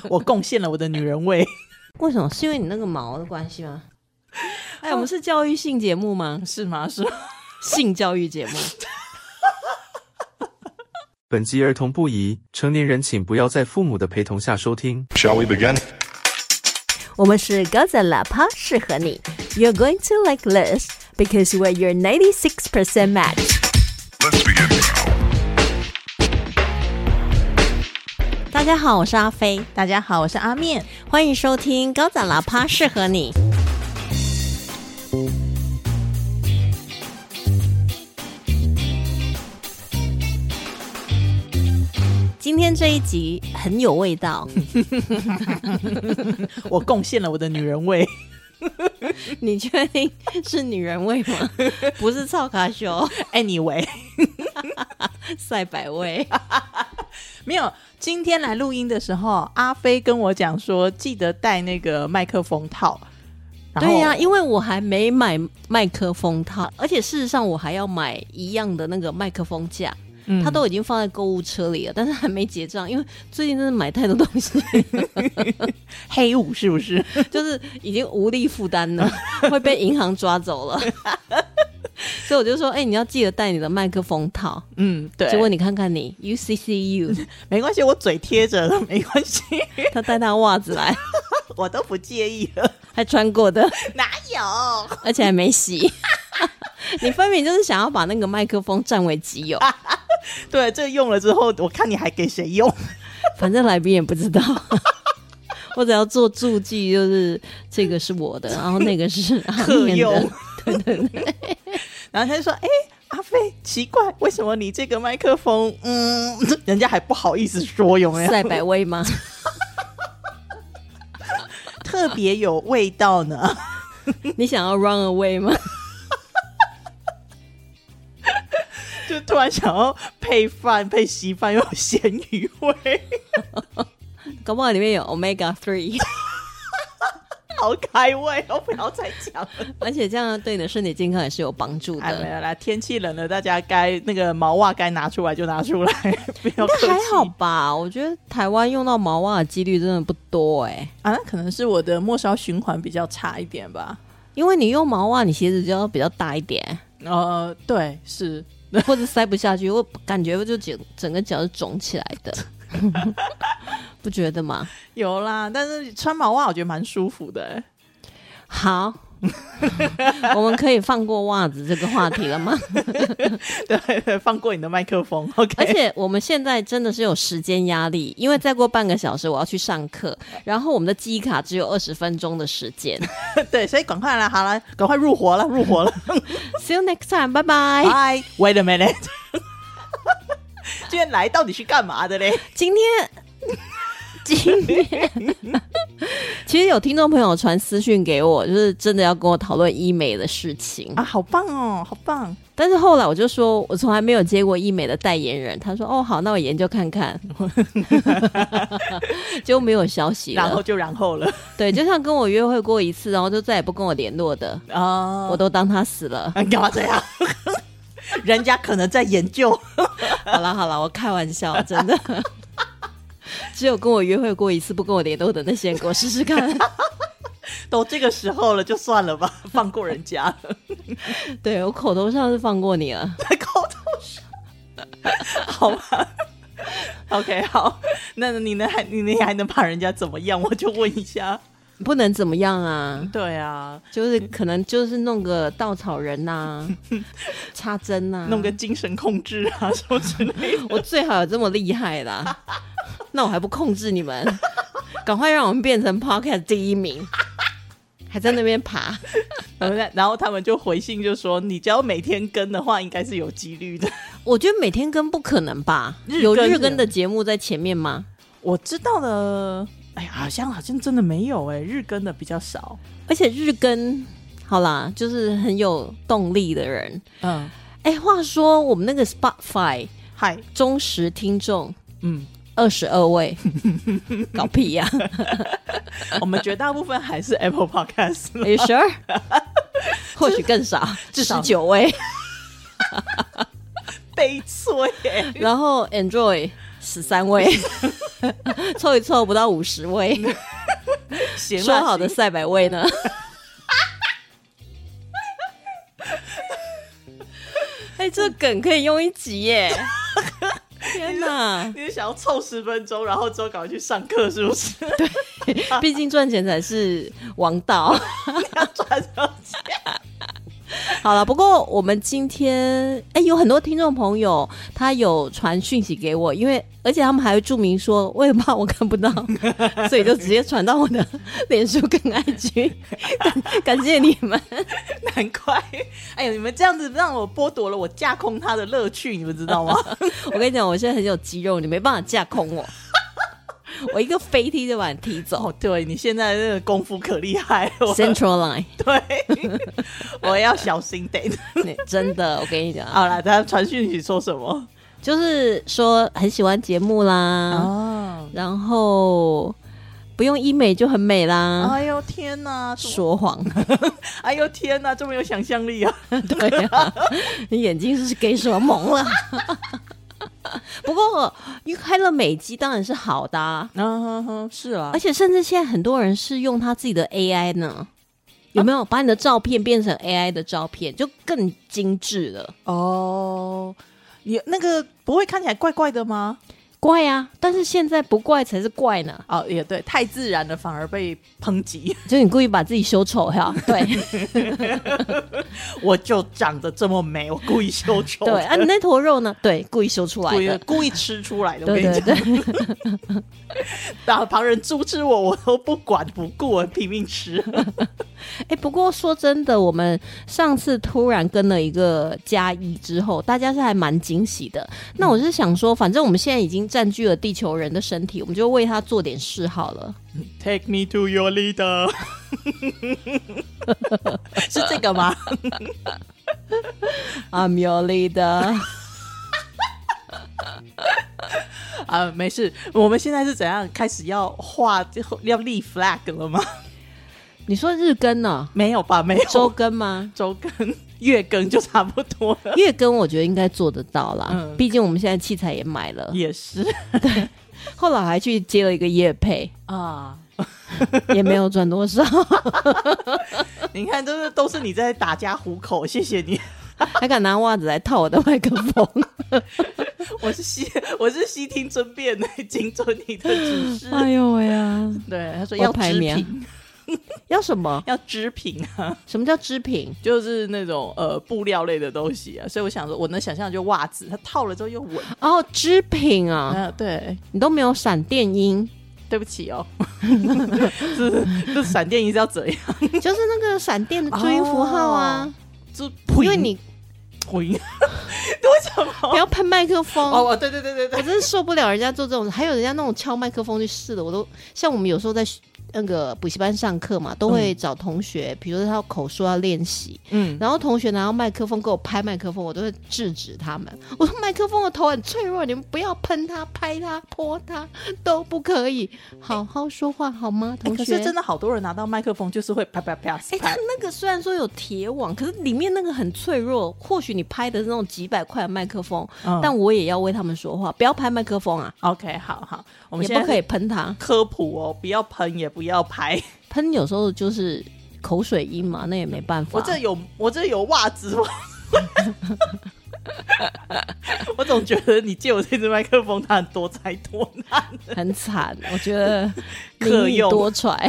我贡献了我的女人味。 为什么？是因为你那个毛的关系吗？哎，我们是教育性节目吗？ 是吗？是吗？ 性教育节目。 本集儿童不宜，成年人请不要在父母的陪同下收听。 Shall we begin? 我们是高赞喇叭，适合你。You're going to like this because we're your 96% match. Let's begin now. 大家好，我是阿飞。 大家好，我是阿面， 欢迎收听高赞喇叭，适合你。今天这一集很有味道。 我贡献了我的女人味。 你确定是女人味吗？不是臭卡修。 Anyway 赛百味。 没有，今天来录音的时候，阿飞跟我讲说记得带那个麦克风套。 对呀，因为我还没买麦克风套，而且事实上我还要买一样的那个麦克风架。它都已经放在购物车里了，但是还没结账，因为最近真的买太多东西。 黑五是不是？ 就是已经无力负担了，会被银行抓走了。所以我就说，你要记得带你的麦克风套。 对。 结果你看看你 UCCU 没关系，我嘴贴着了，没关系。 他带他袜子来， 我都不介意了。 还穿过的？ 哪有？ 而且还没洗。你分明就是想要把那个麦克风占为己有。 对，这用了之后，我看你还给谁用？ 反正来宾也不知道。我只要做注记，就是这个是我的，然后那个是客用。 对。 然后他就说：“阿飞，奇怪，为什么你这个麦克风，人家还不好意思说，有没有？ 赛百味吗？ 特别有味道呢。 你想要 run away 吗？” 就突然想要配饭配稀饭又有咸鱼味。 搞不好里面有 omega 3。 好开胃哦，不要再讲了。 而且这样对你的身体健康也是有帮助的。 没有啦，天气冷了，大家该那个毛袜该拿出来就拿出来，不要客气。 还好吧，我觉得台湾用到毛袜的几率真的不多那可能是我的末梢循环比较差一点吧。 因为你用毛袜，你鞋子就要比较大一点。 对，是。 或者塞不下去，我感觉就整个脚是肿起来的。不觉得吗？ 有啦，但是穿毛袜我觉得蛮舒服的。 好。我们可以放过袜子这个话题了吗？ 对，放过你的麦克风。OK。 而且我们现在真的是有时间压力，因为再过半个小时我要去上课，然后我们的记忆卡只有20分钟的时间。 对，所以赶快来，好了，赶快入伙了。 See you next time， 拜拜。 Bye。Wait a minute。今天来到底是干嘛的嘞？ 今天其实有听众朋友传私讯给我，就是真的要跟我讨论医美的事情啊，好棒哦，好棒！ 但是后来我就说我从来没有接过医美的代言人，他说好，那我研究看看。就没有消息了， 然后了。对， 就像跟我约会过一次，然后就再也不跟我联络的我都当他死了。 你干嘛这样？人家可能在研究。 好啦，我开玩笑，真的。只有跟我约会过一次不跟我联络的那些人，给我试试看。 都这个时候了，就算了吧，放过人家了。 对，我口头上是放过你了。 在口头上。好吧。OK， 好，那你还能把人家怎么样？我就问一下。 不能怎么样啊。 对啊， 就是可能就是弄个稻草人啊，插针啊， 弄个精神控制啊什么之类的。 我最好有这么厉害啦。那我还不控制你们，赶快让我们变成 Podcast 第1名，还在那边爬。 然后他们就回信就说，你只要每天更的话应该是有几率的。 我觉得每天更不可能吧。有日更的节目在前面吗？我知道的好像真的没有日更的比较少。而且日更好啦，就是很有动力的人。话说我们那个 Spotify 忠实听众22位。搞屁呀。我们绝大部分还是 Apple Podcast。 Are you sure？ 或许更少，至少19位。悲催。然后 Android 13位。 凑一凑不到50位， 行说好的300位呢？哎，这梗可以用一集耶！天哪， 你是想要凑10分钟，然后之后赶快去上课，是不是？ 对，毕竟赚钱才是王道， 要赚到钱。 好了，不过我们今天有很多听众朋友他有传讯息给我，因为而且他们还会注明说我也怕我看不到，所以就直接传到我的脸书跟 IG 感谢你们。 难怪，哎呦，你们这样子让我剥夺了我架空他的乐趣，你们知道吗？ 我跟你讲，我现在很有肌肉，你没办法架空我。我一个飞踢就把你踢走。 对，你现在这个功夫可厉害了。 Central Line， 对，我要小心点。 真的，我跟你讲。 好啦，他传讯息说什么？ 就是说很喜欢节目啦，然后不用医美就很美啦。 哎呦天哪， 说谎！ 哎呦天哪，这么有想象力啊！ 对啊，你眼睛是给什么蒙了？不过因为开了美肌当然是好的啊， 是啊， 而且甚至现在很多人是用他自己的 AI 呢，有没有把你的照片变成 AI 的照片，就更精致了哦。 你那个不会看起来怪怪的吗？ 怪啊，但是现在不怪才是怪呢。 哦，也对，太自然了反而被抨击， 就你故意把自己修丑哈。对， 我就长得这么美，我故意修丑。 对啊，你那坨肉呢？对，故意修出来的， 故意吃出来的。 对对对， 然后旁人猪吃我都不管不顾，我拼命吃。 不过说真的，我们上次突然跟了一个+1之后，大家是还蛮惊喜的。那我是想说，反正我们现在已经占据了地球人的身体，我们就为他做点事好了。 Take me to your leader 是这个吗 ？I'm your leader 没事，我们现在是怎样开始要要立 flag 了吗？ 你说日更呢？ 没有吧，没有。 周更吗？ 周更、月更就差不多了。 月更我觉得应该做得到啦，毕竟我们现在器材也买了。 也是， 对。后来还去接了一个业配啊，也没有赚多少。 你看，都是你在打家糊口，谢谢你。 还敢拿袜子来套我的麦克风。 我是悉听尊便的，谨遵你的指示。 哎呦喂呀！ 对，他说要织品。 要什么？ 要织品啊！ 什么叫织品？ 就是那种布料类的东西啊。所以我想说，我能想象就袜子，它套了之后又稳。 哦，织品啊！ 对， 你都没有闪电音， 对不起哦。这闪电音是要怎样？ 就是那个闪电的注音符号啊。因为你为什么不要喷麦克风？ 哦，对，我真是受不了人家做这种，还有人家那种敲麦克风去试的，我都像我们有时候在那个补习班上课嘛，都会找同学，比如说他口说要练习，然后同学拿到麦克风给我拍麦克风，我都会制止他们。我说麦克风的头很脆弱，你们不要喷它、拍它、泼它都不可以，好好说话好吗？同学。 可是真的好多人拿到麦克风就是会啪啪啪。 他那个虽然说有铁网，可是里面那个很脆弱。或许你拍的是那种几百块的麦克风，但我也要为他们说话，不要拍麦克风啊。 OK， 好，我们现在也不可以喷它， 科普哦，不要喷，也不要拍。 喷有时候就是口水音嘛，那也没办法。 我这有袜子吗？我总觉得你借我这支麦克风，它很多灾多难， 很惨。我觉得民以多舛，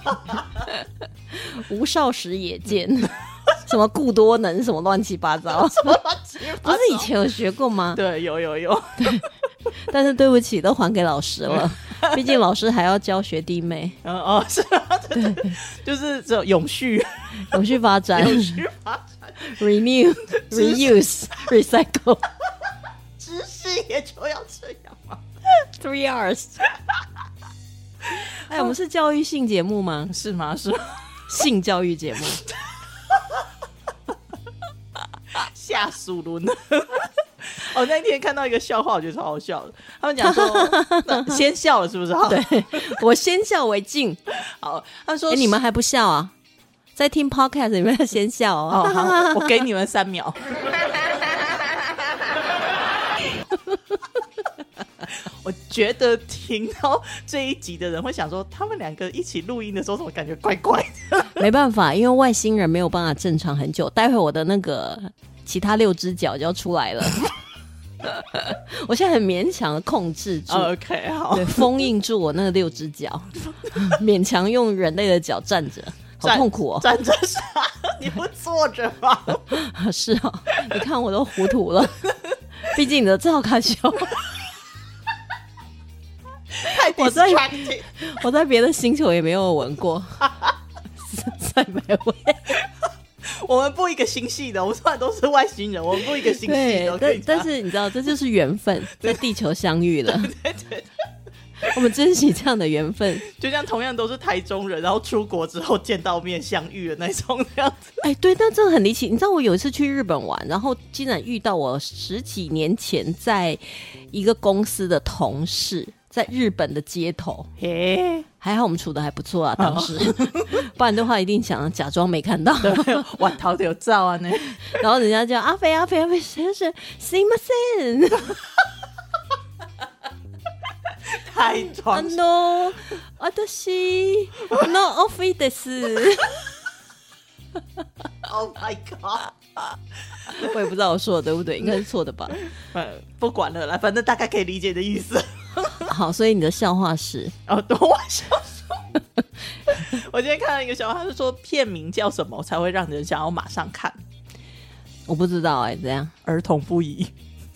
吴少时也见。什么故多能什么乱七八糟，不是以前有学过吗？ 对，有。 对，但是对不起，都还给老师了。毕竟老师还要教学弟妹。 是啊，对，就是这种永续发展，renew reuse recycle， 知识也就要这样嘛。 3 Rs。我们是教育性节目吗？ 是吗？ 性教育节目。 下属轮。我那天看到一个笑话，我觉得超好笑的。他们讲说，先笑了是不是？ 对，我先笑为敬。 好，他说， 你们还不笑啊？在听 podcast 你们要先笑哦。 好，我给你们3秒。 我觉得听到这一集的人会想说，他们两个一起录音的时候，怎么感觉怪怪的？ 没办法，因为外星人没有办法正常很久。待会我的那个其他6只脚就要出来了。我现在很勉强的控制住 OK 好， 对，封印住我那个6只脚，勉强用人类的脚站着，好痛苦哦。 站着啥？你不坐着吗？ 是哦，你看我都糊涂了。毕竟你的赵卡修， 太 distracting。 我在别的星球也没有闻过，再没闻。 我们不一个星系的，我们虽然都是外星人，我们不一个星系的。 但是你知道，这就是缘分，在地球相遇了。 对， 我们珍惜这样的缘分， 就像同样都是台中人，然后出国之后见到面相遇的那种这样子。 哎，对，但真的很离奇。你知道我有一次去日本玩，然后竟然遇到我10几年前在一个公司的同事，在日本的街头。 嘿， 还好我们处的还不错啊，当时，不然的话一定想假装没看到。 哇，头有照啊呢。 然后人家叫阿飞，先生，すいません。 太装。 私のオフィです。 Oh my god！ 我也不知道我说的对不对，应该是错的吧。 不管了啦，反正大概可以理解的意思。 好，所以你的笑话是等我笑说。我今天看到一个笑话，他是说片名叫什么才会让人想要马上看？ 我不知道哎，怎样？ 儿童不宜。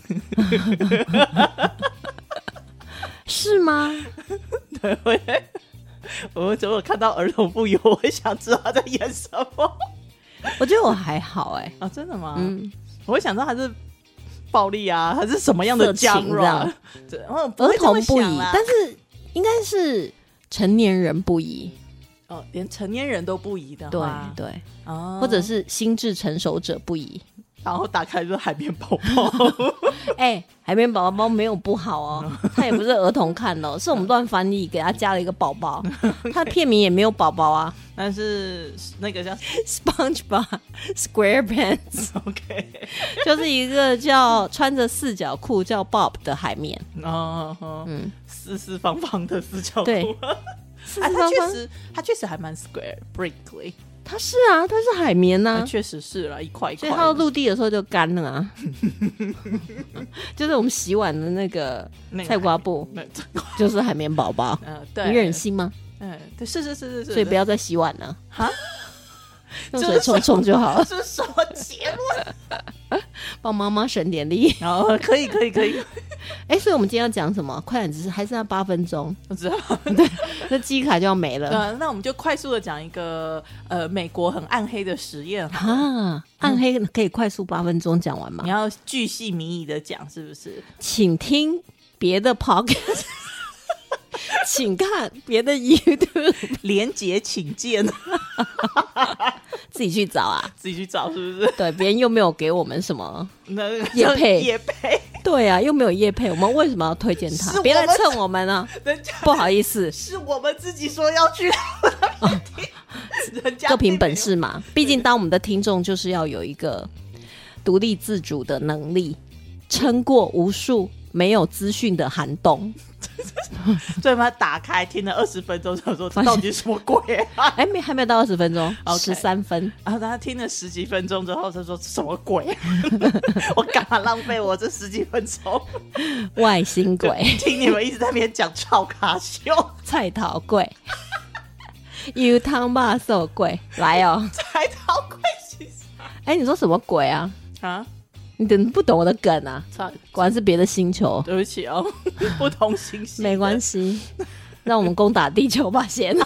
是吗？ 对，我怎么看到儿童不宜，我会想知道他在演什么。 我觉得我还好哎。 啊，真的吗？我会想知道他是暴力啊，还是什么样的genre？ 儿童不宜，但是应该是成年人不宜。 哦，连成年人都不宜的话， 对，或者是心智成熟者不宜。 然后打开就是海绵宝宝。 哎，海绵宝宝没有不好哦，他也不是儿童看的，是我们乱翻译给他加了一个宝宝，他的片名也没有宝宝啊， 但是那个叫 SpongeBob SquarePants， OK， 就是一个叫穿着4角裤叫 Bob 的海绵。 四方方的4角裤。 对， 他确实还蛮 square brickly。 它是啊，它是海绵啊， 确实是啦，一块一块， 所以它到陆地的时候就干了啊。就是我们洗碗的那个菜瓜布，就是海绵宝宝。 对， 你忍心吗？ 对，是， 所以不要再洗碗了哈， 用水冲冲就好了。 这是什么结论？ 帮妈妈省点力。 可以。 哎，所以我们今天要讲什么？快点，只是还剩下8分钟， 我知道。 对，那记忆卡就要没了。 那我们就快速的讲一个美国很暗黑的实验啊。暗黑可以快速8分钟讲完吗？ 你要巨细靡遗的讲，是不是？ 请听别的 podcast， 请看别的 YouTube， 连结请见。 自己去找啊， 自己去找，是不是？ 对，别人又没有给我们什么业配。 对啊，又没有业配，我们为什么要推荐他？别来蹭我们啊！不好意思， 是我们自己说要去那边听，人家各凭本事嘛。毕竟当我们的听众就是要有一个独立自主的能力，撑过无数没有资讯的寒冬。 所以把它打开听了20分钟，想说这到底是什么鬼啊？ 哎，还没有到20分钟，13分。 然后他听了10几分钟之后，他说什么鬼？我干嘛浪费我这10几分钟？ 外星鬼， 听你们一直在那边讲超卡秀、 菜头粿、油汤肉寿粿，来哦！ 菜头粿是啥？ 哎，你说什么鬼啊？ 啊？ 你不懂我的梗啊？果然是别的星球。 对不起哦，不同星系。 没关系，让我们攻打地球吧，先。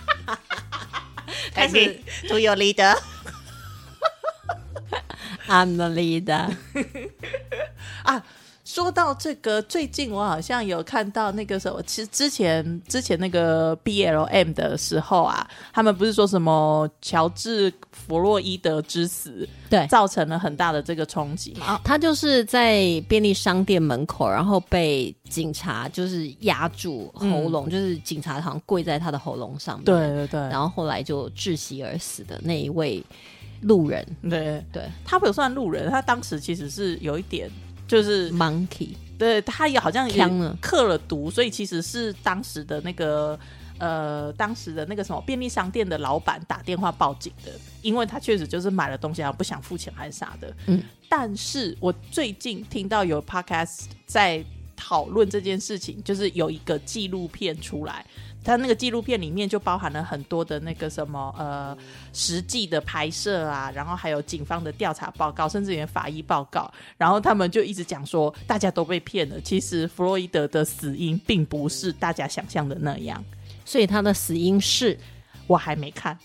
开始 ，To your leader。 I'm the leader。 啊，说到这个，最近我好像有看到那个什么，其实之前那个 BLM 的时候啊，他们不是说什么乔治·弗洛伊德之死， 对， 造成了很大的这个冲击嘛。 他就是在便利商店门口，然后被警察就是压住喉咙，就是警察好像跪在他的喉咙上面， 对， 然后后来就窒息而死的那一位路人。 对，他不算路人，他当时其实是有一点就是 monkey 对，他也好像也嗑了毒，所以其实是当时的那个什么便利商店的老板打电话报警的，因为他确实就是买了东西然后不想付钱还是啥的。但是我最近听到有 podcast 在讨论这件事情，就是有一个纪录片出来，他那个纪录片里面就包含了很多的那个什么实际的拍摄啊，然后还有警方的调查报告，甚至连法医报告，然后他们就一直讲说大家都被骗了，其实弗洛伊德的死因并不是大家想象的那样。 所以他的死因是， 我还没看。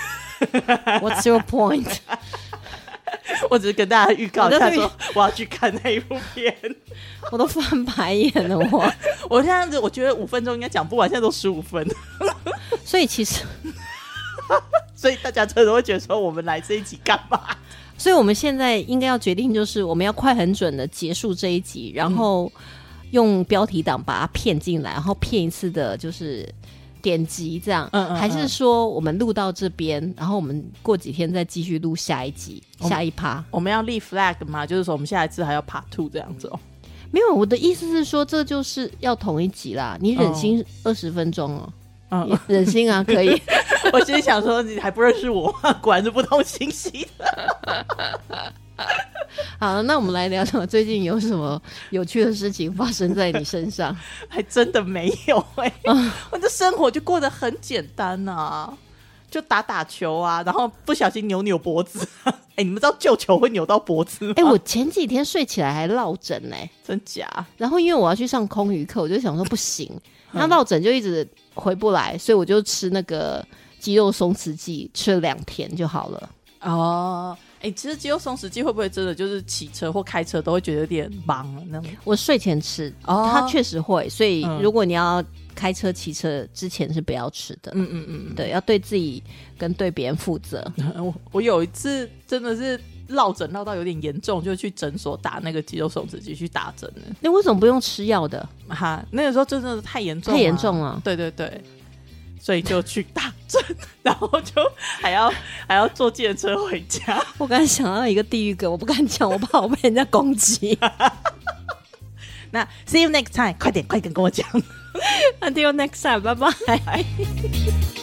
What's your point？ 我只是跟大家预告一下说我要去看那一部片。 我都翻白眼了。 我现在我觉得5分钟应该讲不完，现在都15分。 所以其实所以大家真的会觉得说我们来这一集干嘛？ 所以我们现在应该要决定，就是我们要快很准的结束这一集，然后用标题党把它骗进来，然后骗一次的就是点击这样。还是说我们录到这边，然后我们过几天再继续录下一集下一趴？ 我们要立 flag 嘛，就是说我们下一次还要 part 2这样子哦。 没有，我的意思是说这就是要同一集啦，你忍心20分钟哦。忍心啊，可以。 我其实想说你还不认识我，果然是不同信息的。 好，那我们来聊聊最近有什么有趣的事情发生在你身上。 还真的没有我的生活就过得很简单啊，就打球啊，然后不小心扭脖子。你们知道救球会扭到脖子吗？ 我前几天睡起来还落枕真假？ 然后因为我要去上空余课，我就想说不行，那落枕就一直回不来，所以我就吃那个肌肉松弛剂，吃了2天就好了。 其实肌肉松弛剂会不会真的就是骑车或开车都会觉得有点忙那种？ 我睡前吃，它确实会，所以如果你要开车骑车之前是不要吃的。对，要对自己跟对别人负责。 我有一次真的是落枕落到有点严重，就去诊所打那个肌肉松弛剂去打针了。 那为什么不用吃药的？ 那个时候真的太严重了。对对对，所以就去打针，然后就还要坐计程车回家。 我刚才想到一个地狱梗，我不敢讲，我怕我被人家攻击。 那 see you next time， 快点跟我讲。 Until next time， 拜拜。